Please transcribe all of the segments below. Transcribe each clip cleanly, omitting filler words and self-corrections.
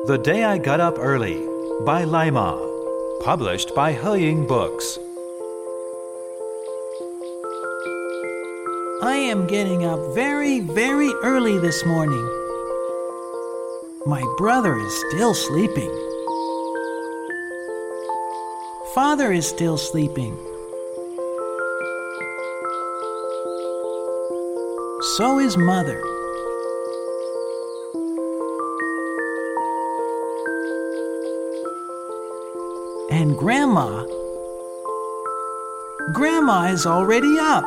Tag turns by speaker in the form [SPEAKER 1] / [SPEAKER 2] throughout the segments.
[SPEAKER 1] The Day I Got Up Early by Laima, published by Heying Books.
[SPEAKER 2] I am getting up very, very early this morning. My brother is still sleeping. Father is still sleeping. So is Mother. And Grandma is already up.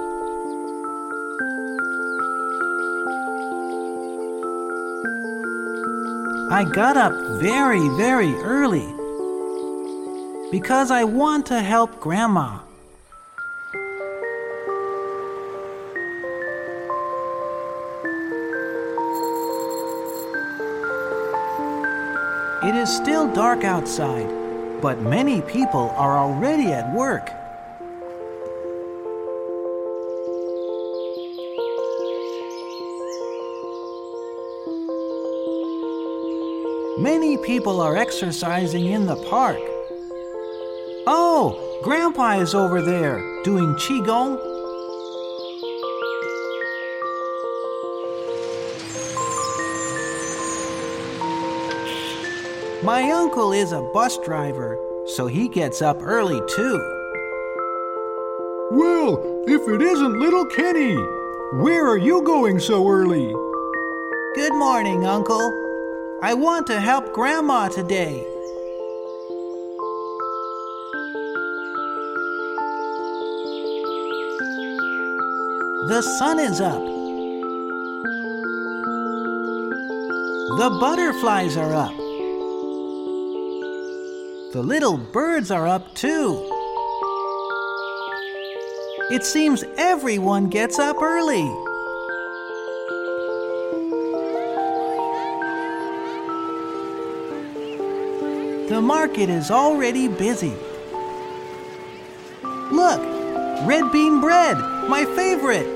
[SPEAKER 2] I got up very, very early because I want to help Grandma. It is still dark outside, but many people are already at work. Many people are exercising in the park. Oh, Grandpa is over there doing Qigong. My uncle is a bus driver, so he gets up early too.
[SPEAKER 3] Well, if it isn't little Kenny, where are you going so early?
[SPEAKER 2] Good morning, Uncle. I want to help Grandma today. The sun is up. The butterflies are up. The little birds are up too. It seems everyone gets up early. The market is already busy. Look, red bean bread, my favorite.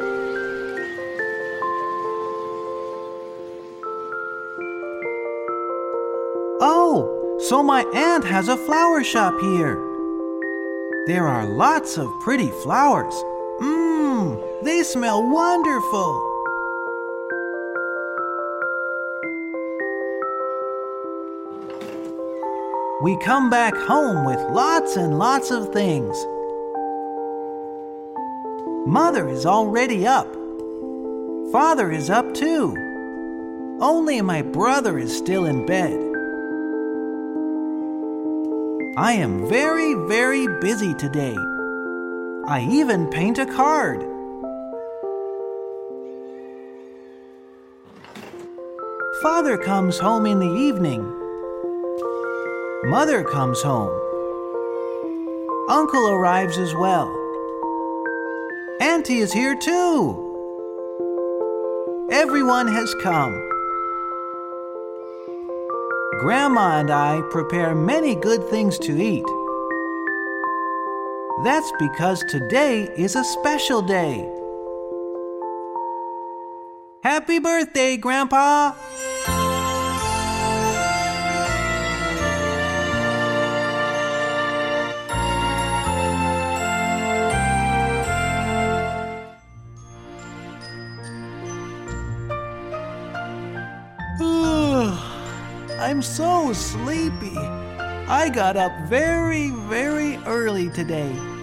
[SPEAKER 2] Oh, so my aunt has a flower shop here. There are lots of pretty flowers. They smell wonderful. We come back home with lots and lots of things. Mother is already up. Father is up too. Only my brother is still in bed. I am very, very busy today. I even paint a card. Father comes home in the evening. Mother comes home. Uncle arrives as well. Auntie is here too. Everyone has come. Grandma and I prepare many good things to eat. That's because today is a special day. Happy birthday, Grandpa! I'm so sleepy. I got up very, very early today.